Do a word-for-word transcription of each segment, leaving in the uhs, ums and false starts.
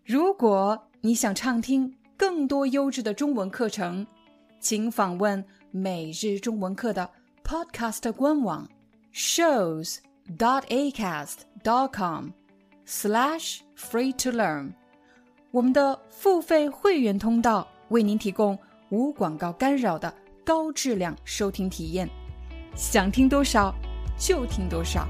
如果你想畅听更多优质的中文课程，请访问每日中文课的 Podcast 官网 shows dot acast dot com slash free to learn。 我们的付费会员通道为您提供无广告干扰的高质量收听体验，想听多少就听多少。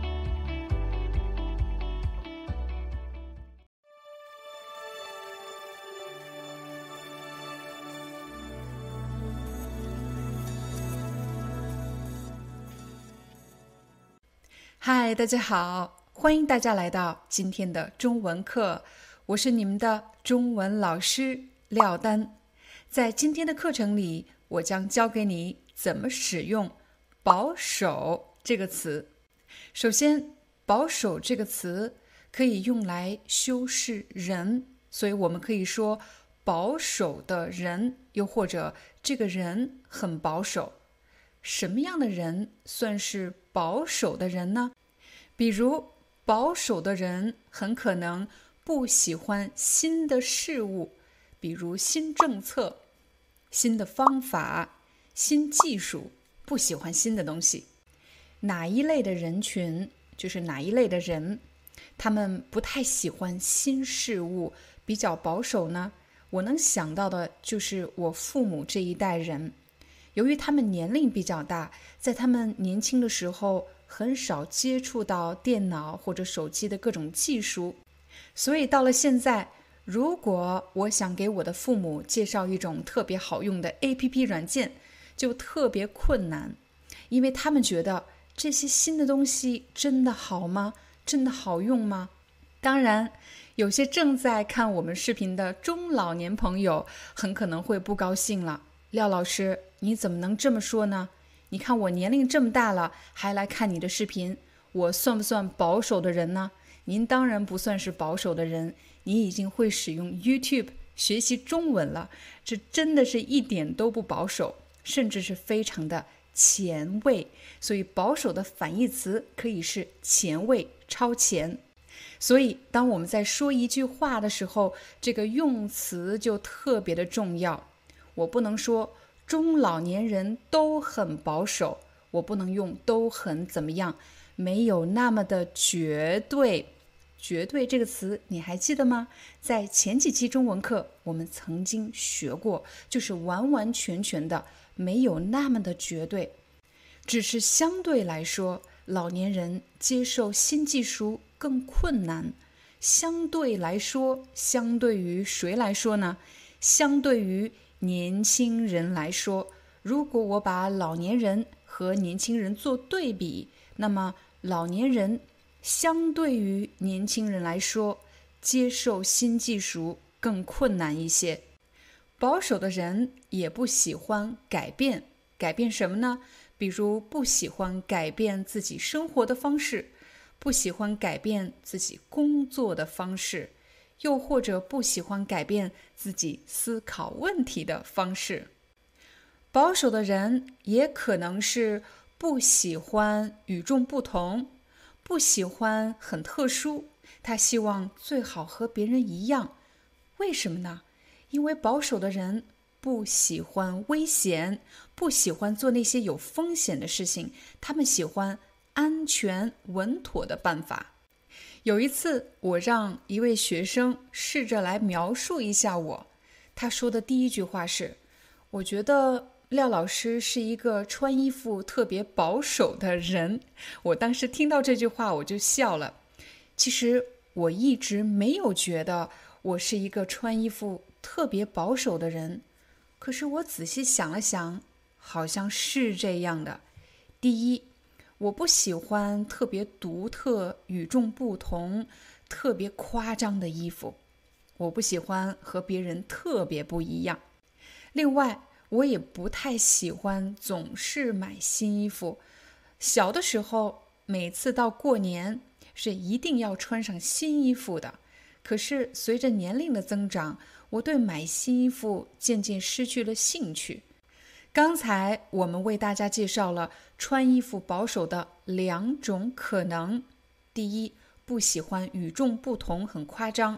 嗨，大家好，欢迎大家来到今天的中文课，我是你们的中文老师廖丹。在今天的课程里，我将教给你怎么使用保守这个词。首先，保守这个词可以用来修饰人，所以我们可以说保守的人，又或者这个人很保守。什么样的人算是保守的人呢？比如，保守的人很可能不喜欢新的事物，比如新政策、新的方法、新技术，不喜欢新的东西。哪一类的人群，就是哪一类的人，他们不太喜欢新事物，比较保守呢？我能想到的就是我父母这一代人。由于他们年龄比较大，在他们年轻的时候很少接触到电脑或者手机的各种技术，所以到了现在，如果我想给我的父母介绍一种特别好用的 A P P 软件，就特别困难，因为他们觉得这些新的东西真的好吗？真的好用吗？当然，有些正在看我们视频的中老年朋友很可能会不高兴了。廖老师，你怎么能这么说呢？你看我年龄这么大了，还来看你的视频，我算不算保守的人呢？您当然不算是保守的人，你已经会使用 YouTube 学习中文了，这真的是一点都不保守，甚至是非常的前卫。所以保守的反义词可以是前卫、超前。所以当我们在说一句话的时候，这个用词就特别的重要。我不能说中老年人都很保守，我不能用都很怎么样，没有那么的绝对。绝对这个词你还记得吗？在前几期中文课我们曾经学过，就是完完全全的没有那么的绝对，只是相对来说，老年人接受新技术更困难。相对来说，相对于谁来说呢？相对于年轻人来说，如果我把老年人和年轻人做对比，那么老年人相对于年轻人来说，接受新技术更困难一些。保守的人也不喜欢改变，改变什么呢？比如不喜欢改变自己生活的方式，不喜欢改变自己工作的方式，又或者不喜欢改变自己思考问题的方式。保守的人也可能是不喜欢与众不同，不喜欢很特殊，他希望最好和别人一样。为什么呢？因为保守的人不喜欢危险，不喜欢做那些有风险的事情，他们喜欢安全稳妥的办法。有一次，我让一位学生试着来描述一下我，他说的第一句话是：我觉得廖老师是一个穿衣服特别保守的人。我当时听到这句话我就笑了。其实我一直没有觉得我是一个穿衣服特别保守的人，可是我仔细想了想，好像是这样的。第一，我不喜欢特别独特、与众不同、特别夸张的衣服，我不喜欢和别人特别不一样。另外，我也不太喜欢总是买新衣服。小的时候，每次到过年是一定要穿上新衣服的。可是随着年龄的增长，我对买新衣服渐渐失去了兴趣。刚才我们为大家介绍了穿衣服保守的两种可能。第一，不喜欢与众不同，很夸张。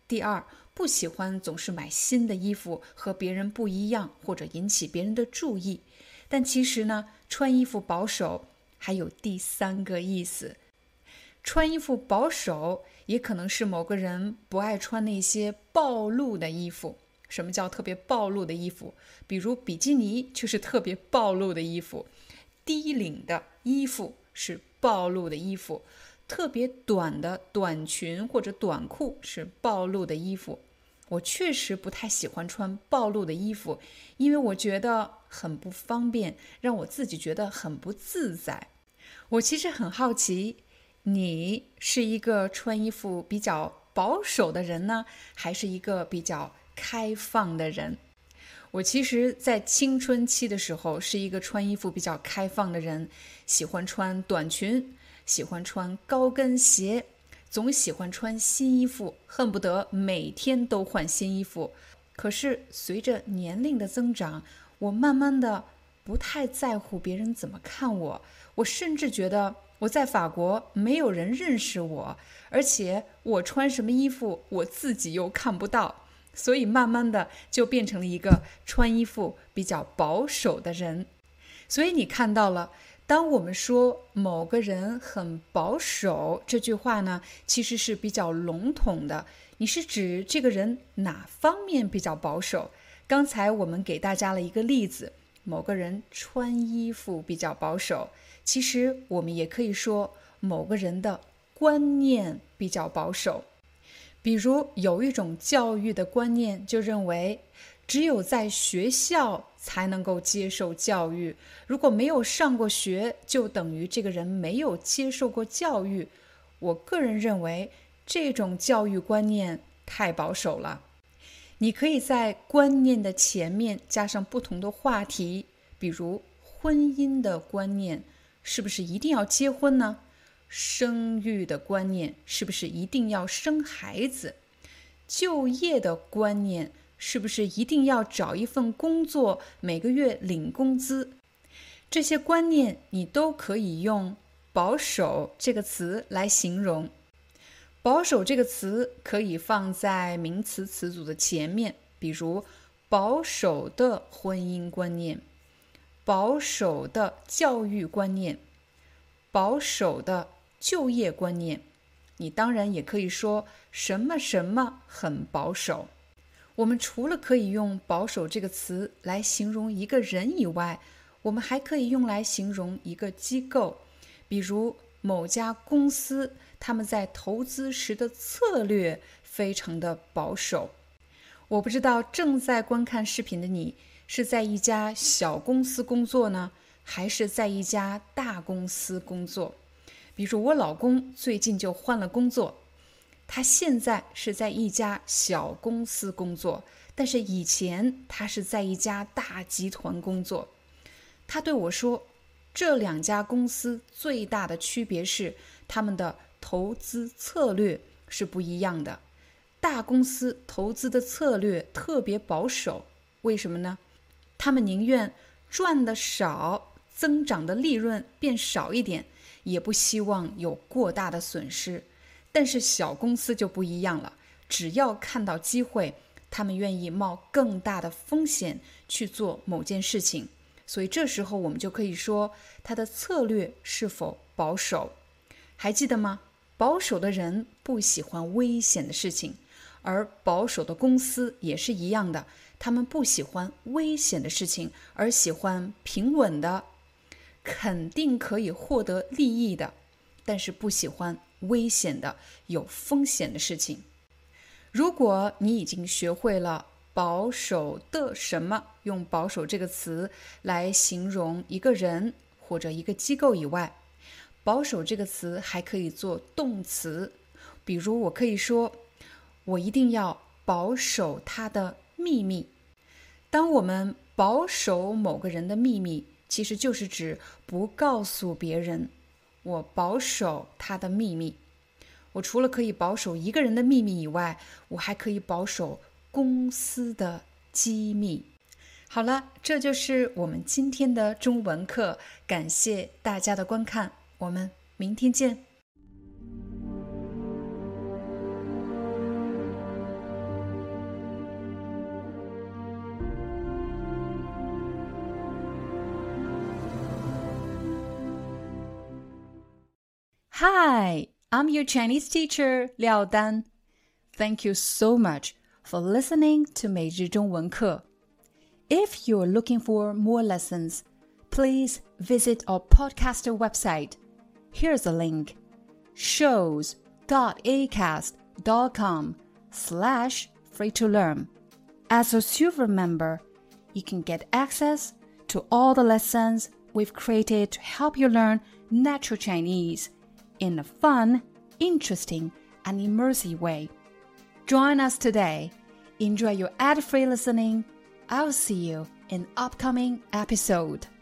第二，不喜欢总是买新的衣服，和别人不一样，或者引起别人的注意。但其实呢，穿衣服保守还有第三个意思。穿衣服保守也可能是某个人不爱穿那些暴露的衣服。什么叫特别暴露的衣服？比如比基尼就是特别暴露的衣服，低领的衣服是暴露的衣服，特别短的短裙或者短裤是暴露的衣服。我确实不太喜欢穿暴露的衣服，因为我觉得很不方便，让我自己觉得很不自在。我其实很好奇，你是一个穿衣服比较保守的人呢，还是一个比较开放的人？我其实在青春期的时候是一个穿衣服比较开放的人，喜欢穿短裙，喜欢穿高跟鞋，总喜欢穿新衣服，恨不得每天都换新衣服。可是随着年龄的增长，我慢慢的不太在乎别人怎么看我，我甚至觉得我在法国没有人认识我，而且我穿什么衣服我自己又看不到。所以慢慢的就变成了一个穿衣服比较保守的人。所以你看到了，当我们说某个人很保守这句话呢，其实是比较笼统的。你是指这个人哪方面比较保守？刚才我们给大家了一个例子，某个人穿衣服比较保守。其实我们也可以说某个人的观念比较保守。比如有一种教育的观念就认为，只有在学校才能够接受教育，如果没有上过学，就等于这个人没有接受过教育。我个人认为这种教育观念太保守了。你可以在观念的前面加上不同的话题，比如婚姻的观念，是不是一定要结婚呢？生育的观念，是不是一定要生孩子？就业的观念，是不是一定要找一份工作，每个月领工资？这些观念你都可以用保守这个词来形容。保守这个词可以放在名词词组的前面，比如保守的婚姻观念，保守的教育观念，保守的就业观念。你当然也可以说什么什么很保守。我们除了可以用保守这个词来形容一个人以外，我们还可以用来形容一个机构。比如某家公司，他们在投资时的策略非常的保守。我不知道正在观看视频的你是在一家小公司工作呢，还是在一家大公司工作。比如我老公最近就换了工作，他现在是在一家小公司工作，但是以前他是在一家大集团工作。他对我说，这两家公司最大的区别是他们的投资策略是不一样的。大公司投资的策略特别保守，为什么呢？他们宁愿赚的少，增长的利润变少一点，也不希望有过大的损失。但是小公司就不一样了，只要看到机会，他们愿意冒更大的风险去做某件事情。所以这时候我们就可以说他的策略是否保守。还记得吗？保守的人不喜欢危险的事情，而保守的公司也是一样的，他们不喜欢危险的事情，而喜欢平稳的，肯定可以获得利益的，但是不喜欢危险的、有风险的事情。如果你已经学会了保守的什么，用保守这个词来形容一个人或者一个机构以外，保守这个词还可以做动词。比如我可以说，我一定要保守他的秘密。当我们保守某个人的秘密，其实就是指不告诉别人，我保守他的秘密。我除了可以保守一个人的秘密以外，我还可以保守公司的机密。好了，这就是我们今天的中文课，感谢大家的观看，我们明天见。 Hi, I'm your Chinese teacher, Liao Dan. Thank you so much for listening to 每日中文课. If you're looking for more lessons, please visit our podcaster website. Here's a link, shows.acast.com slash free to learn. As a silver member, you can get access to all the lessons we've created to help you learn natural Chinese in a fun, interesting, and immersive way. Join us today. Enjoy your ad-free listening. I'll see you in upcoming episode.